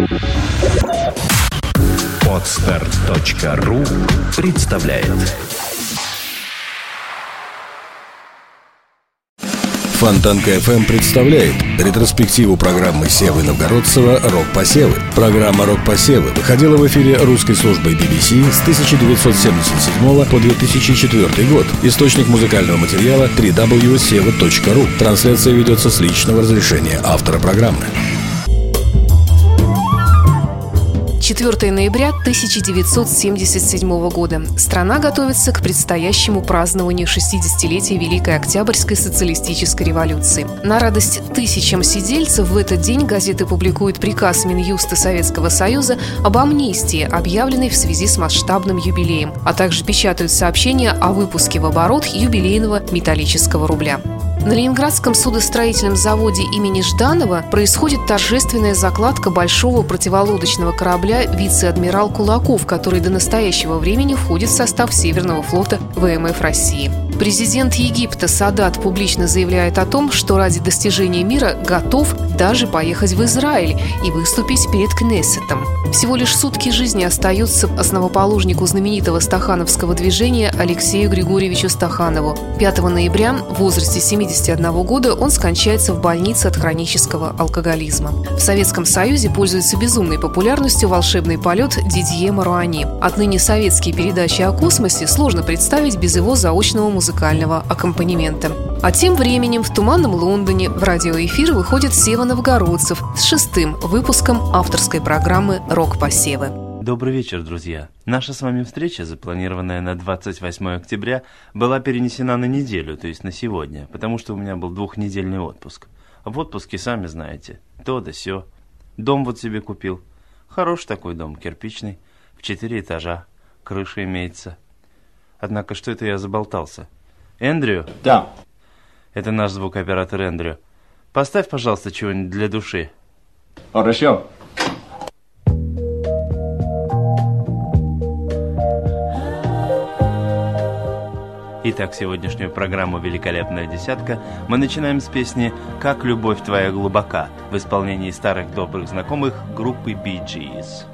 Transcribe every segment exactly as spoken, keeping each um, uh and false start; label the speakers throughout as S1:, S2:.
S1: Подстер точка ру представляет.
S2: Фонтанка эф эм представляет ретроспективу программы Севы Новгородцева «Рок-посевы». Программа «Рок-посевы» выходила в эфире русской службой би би си с тысяча девятьсот семьдесят седьмого по две тысячи четвёртый год. Источник музыкального материала дабл ю дабл ю дабл ю точка сева точка ру. Трансляция ведется с личного разрешения автора программы.
S3: четвёртого ноября тысяча девятьсот семьдесят седьмого года. Страна готовится к предстоящему празднованию шестидесятилетия Великой Октябрьской социалистической революции. На радость тысячам сидельцев в этот день газеты публикуют приказ Минюста Советского Союза об амнистии, объявленной в связи с масштабным юбилеем, а также печатают сообщения о выпуске в оборот юбилейного металлического рубля. На Ленинградском судостроительном заводе имени Жданова происходит торжественная закладка большого противолодочного корабля «Вице-адмирал Кулаков», который до настоящего времени входит в состав Северного флота вэ эм эф России. Президент Египта Садат публично заявляет о том, что ради достижения мира готов даже поехать в Израиль и выступить перед Кнессетом. Всего лишь сутки жизни остаются основоположнику знаменитого стахановского движения Алексею Григорьевичу Стаханову. пятого ноября в возрасте семидесяти одного года он скончается в больнице от хронического алкоголизма. В Советском Союзе пользуется безумной популярностью волшебный полет Дидье Маруани. Отныне советские передачи о космосе сложно представить без его заочного музыкального аккомпанемента. А тем временем в туманном Лондоне в радиоэфир выходит Сева Новгородцев с шестым выпуском авторской программы «Рок-посевы».
S4: Добрый вечер, друзья. Наша с вами встреча, запланированная на двадцать восьмое октября, была перенесена на неделю, то есть на сегодня, потому что у меня был двухнедельный отпуск. В отпуске, сами знаете, то да сё. Дом вот себе купил. Хороший такой дом, кирпичный, в четыре этажа, крыша имеется. Однако, что это я заболтался? Эндрю?
S5: Да.
S4: Это наш звукооператор Эндрю. Поставь, пожалуйста, чего-нибудь для души.
S5: Хорошо.
S4: Итак, сегодняшнюю программу «Великолепная десятка» мы начинаем с песни «Как любовь твоя глубока» в исполнении старых добрых знакомых группы Bee Gees.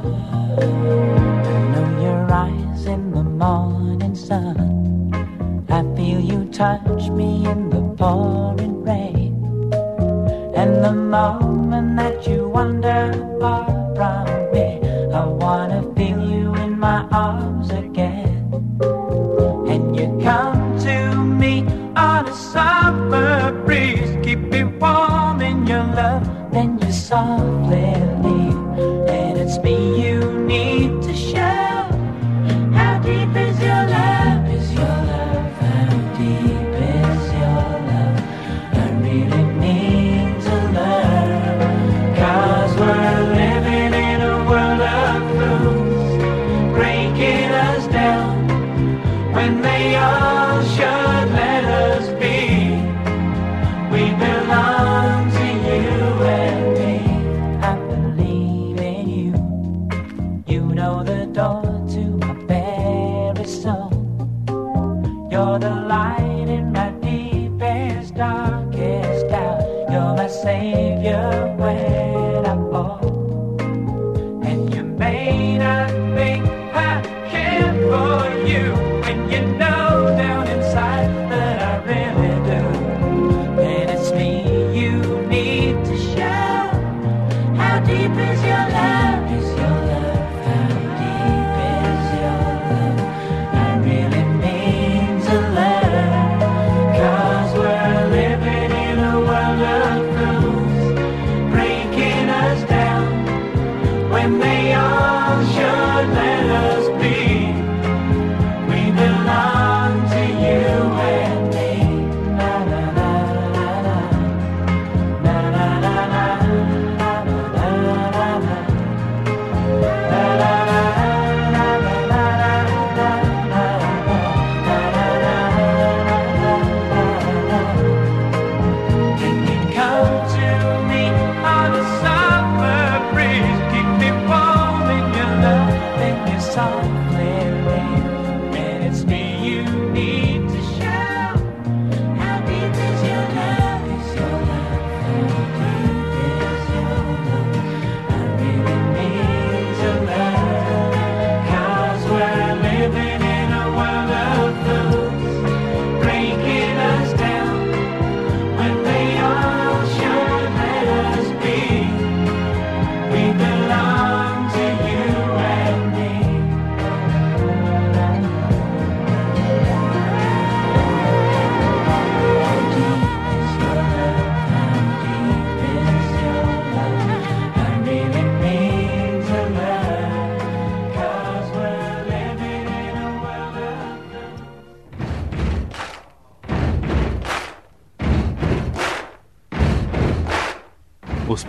S6: I feel you touch me in the pouring rain, and the moment that you wander far from me, I wanna feel you in my arms again. And you come to me on a summer breeze, keep me warm in your love, then you softly leave, and it's me you need to show. How deep is your love, is your love? Deep is your love, I really need to learn. Cause we're living in a world of fools, breaking us down when they all should let us be. We belong to you and me. I believe in you. You know the door to my very soul. You're the light in my deepest, darkest doubt. You're my savior when I fall. And you may not think I care for you, and you know down inside that I really do. And it's me you need to show. How deep is your love? Is your love? How deep is your love? I really need to learn. Cause we're living in a world of fools, breaking us down when they all should let us be. We belong to you and me. Na na na na na na na na na na na na na.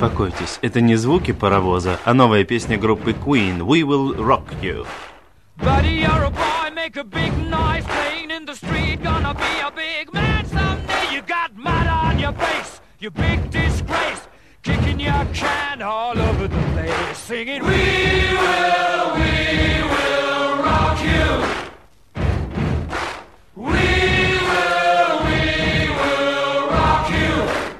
S4: Успокойтесь, это не звуки паровоза, а новая песня группы Queen «We Will Rock You».
S5: Buddy, you're a boy, make a big noise, playing in the street, gonna be a big man someday. You got mud on your face, you big disgrace, kicking your can all over the place, singing, we will, we will rock you. We will, we will rock you.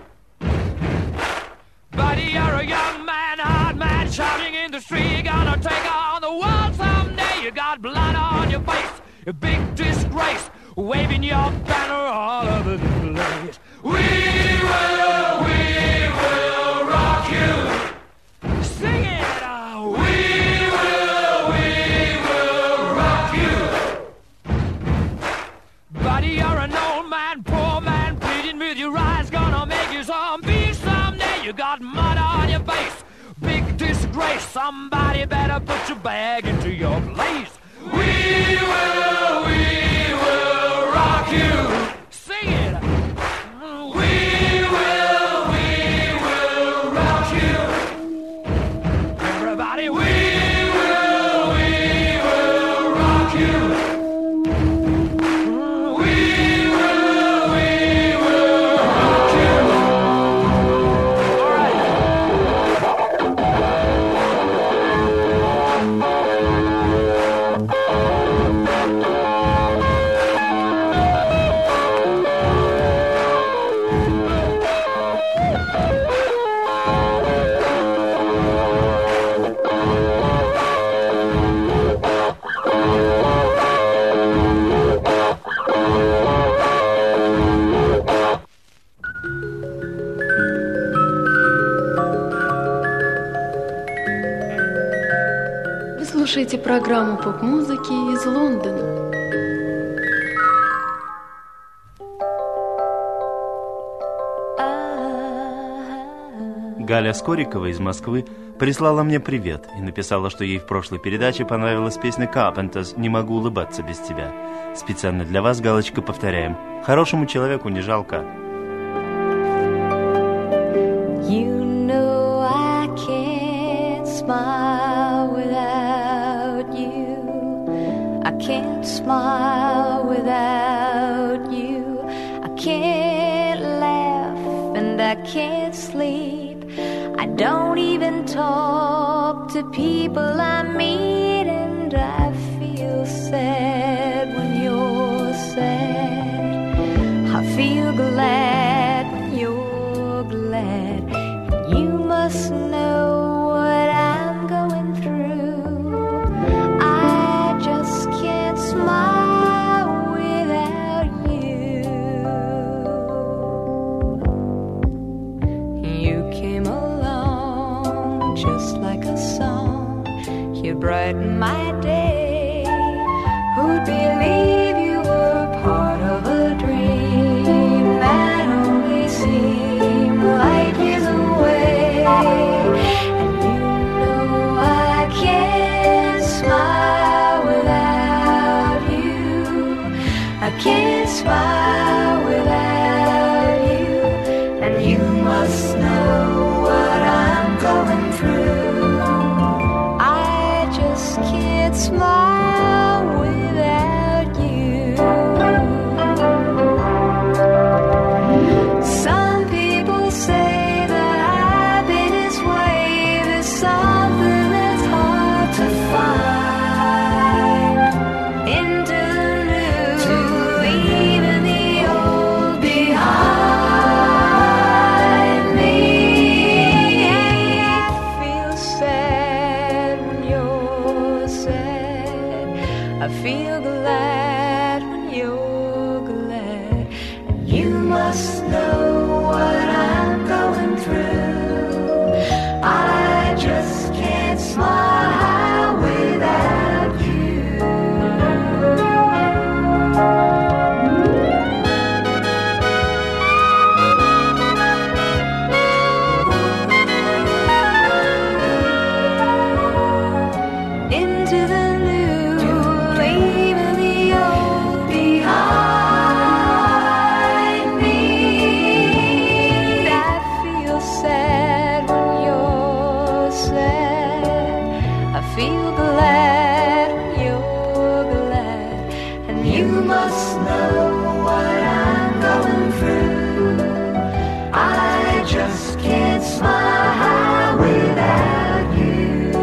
S5: Buddy, you're a young man, hard man, shouting in the street, gonna take on the world someday. You got blood on your face, a big disgrace, waving your banner all over the place. We will, we will rock you. Sing it out. We will, we will rock you. Buddy, you're an old man, poor man, pleading with your eyes, gonna make you zombie someday. You got mud on your face, big disgrace, somebody better put your bag into your place. We will, we will rock you. Sing it. We will, we will rock you. Everybody, we will, we will rock you. We will, we will rock you. All right.
S7: Вы слушаете программу поп-музыки из Лондона.
S4: Галя Скорикова из Москвы прислала мне привет и написала, что ей в прошлой передаче понравилась песня Carpenters «Не могу улыбаться без тебя». Специально для вас, Галочка, повторяем. Хорошему человеку не жалко.
S8: You know I can't smile without you. I can't smile without you. I can't laugh and I can't sleep. I don't even talk to people I meet, and I feel sad when you're sad. I feel glad when you're glad. And you must know what I'm going through. I just can't smile without you. You came along just like a song. You brightened my day. Who'd believe you were part of a dream that only seemed light years away? And you know I can't smile without you. I can't smile without you. And you must know what I'm going through. I just can't smile without you. Some people say that I've been this way. There's something that's hard to find. Into the new, leaving the old behind me. I feel sad when you're sad. I feel glad when you're glad. And you must know what I'm going through. I just can't smile without you. Into the new, leaving the feel glad when you're glad. And you must know what I'm going through. I just can't smile without you.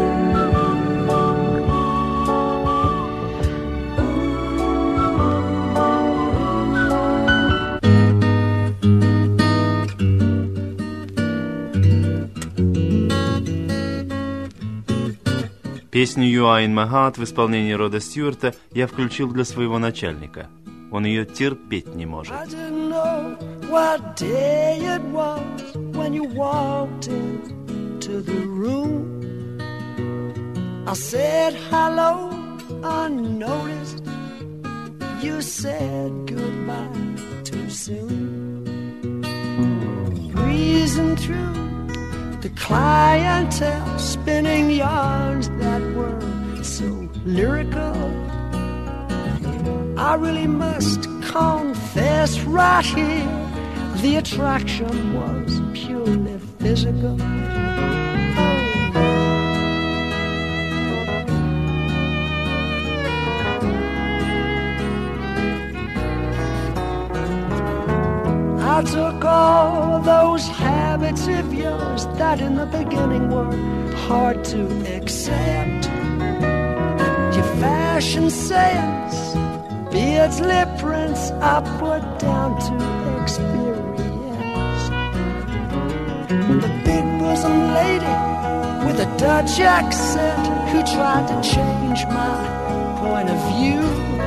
S4: Песню «You Are In My Heart» в исполнении Рода Стюарта я включил для своего начальника. Он ее терпеть не может.
S9: I didn't know what day it was when you walked into the room. I said hello unnoticed. You said goodbye too soon. Breezing through the clientele, spinning yarns that were so lyrical. I really must confess right here, the attraction was purely physical. I took all those habits of yours that in the beginning were hard to accept. Your fashion sense, beards, lip prints, I put down to experience. The big bosom lady with a Dutch accent who tried to change my point of view.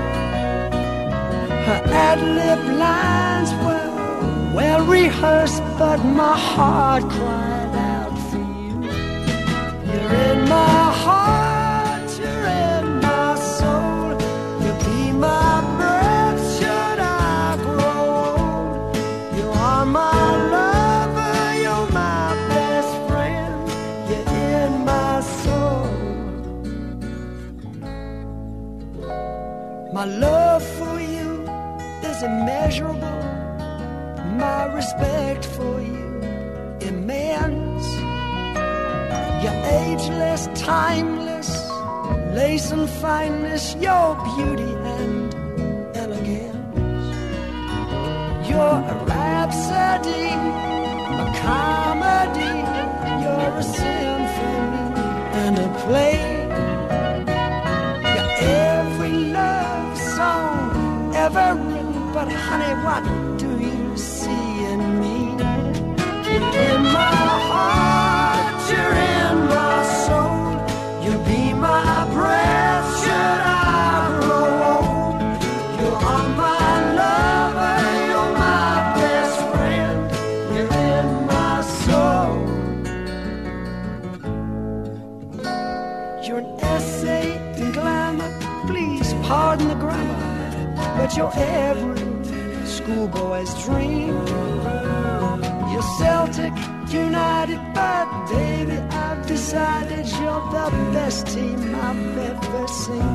S9: Her ad-lib lines were well rehearsed, but my heart cried out for you. You're in my heart, you're in my soul. You'll be my breath should I grow old. You are my lover, you're my best friend. You're in my soul. My love for you is immeasurable. My respect for you immense. You're ageless, timeless, lace and fineness, your beauty and elegance. You're a rhapsody, a comedy. You're a symphony and a play. You're every love song ever written, but honey, what do you see in me? You're in my heart, you're in my soul. You'll be my breath should I grow old. You are my lover, you're my best friend. You're in my soul. You're an essay in glamour, please pardon the grammar, but you're every schoolboy's dream. You're Celtic United, but baby, I've decided you're the best team I've ever seen.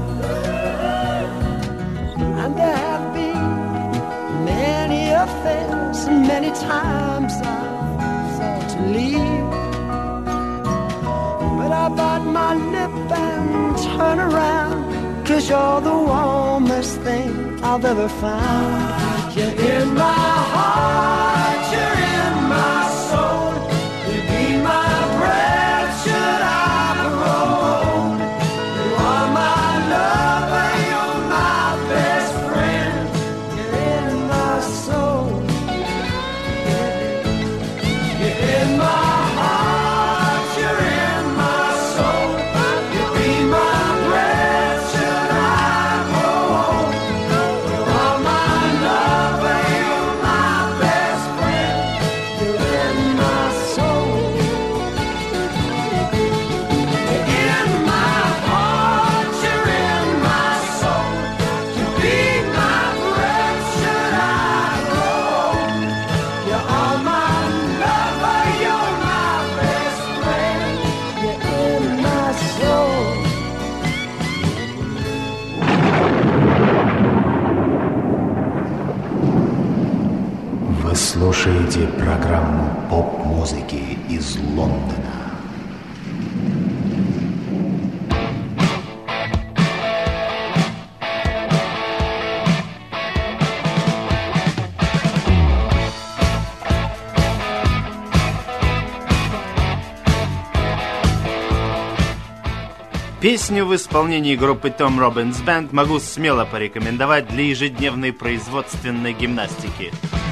S9: And there have been many affairs, and many times I've thought to leave, but I bite my lip and turn around, 'cause you're the warmest thing I've ever found. You're in my heart, you're in my soul. You'll be my breath should I grow old. You are my lover, you're my best friend. You're in my soul. You're in my heart, you're in my soul. You'll be my breath should I grow old. You are my lover, you're my best friend. You're in my soul. You're in my heart, you're in my soul. You'll be my breath should I grow old. You are my lover, you're my best friend. You're in my soul.
S1: Вы слушаете программу поп-музыки из Лондона.
S4: Песню в исполнении группы Tom Robbins Band могу смело порекомендовать для ежедневной производственной гимнастики.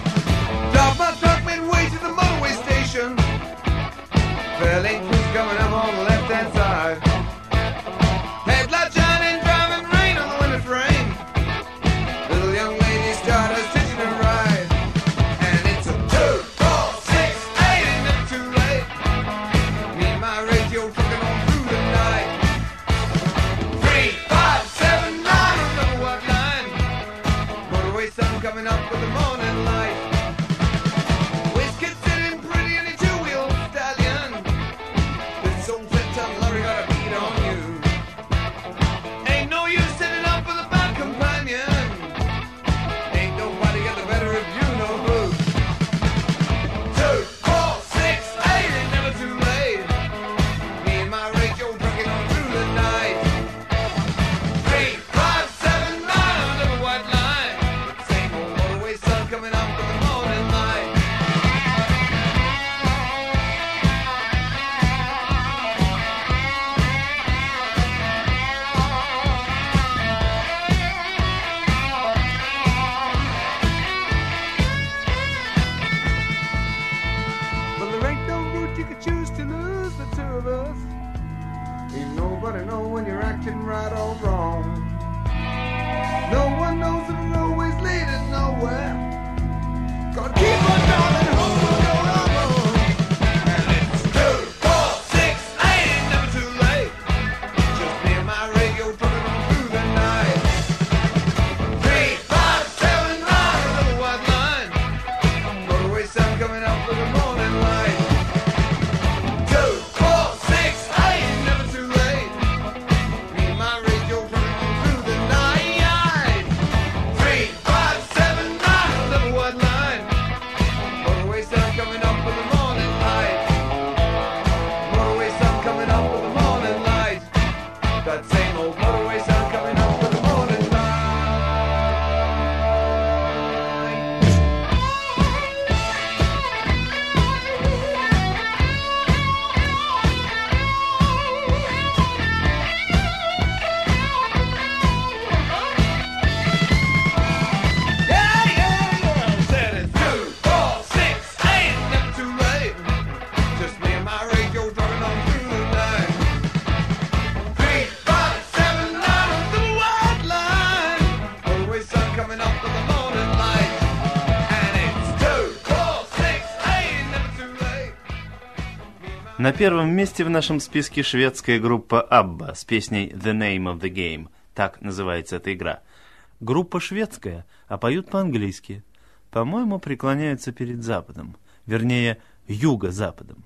S4: На первом месте в нашем списке шведская группа Абба с песней «The Name of the Game». Так называется эта игра. Группа шведская, а поют по-английски. По-моему, преклоняются перед Западом. Вернее, Юго-Западом.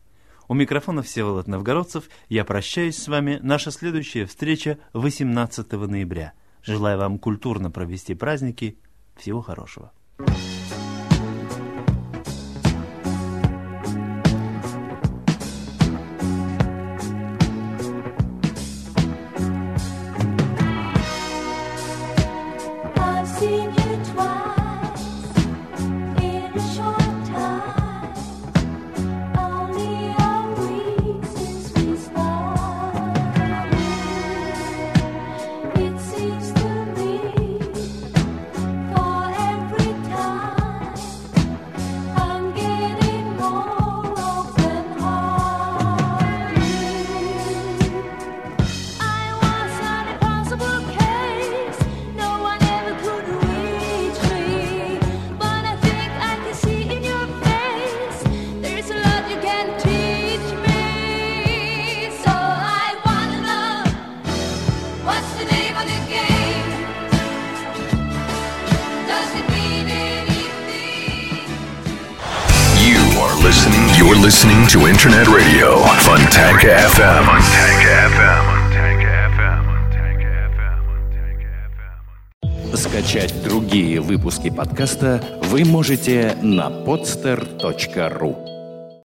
S4: У микрофона Всеволод Новгородцев. Я прощаюсь с вами. Наша следующая встреча восемнадцатого ноября. Желаю вам культурно провести праздники. Всего хорошего.
S2: You're listening to Internet Radio, Fontanka эф эм. Fontanka эф эм. Скачать другие выпуски подкаста вы можете на podster точка ру.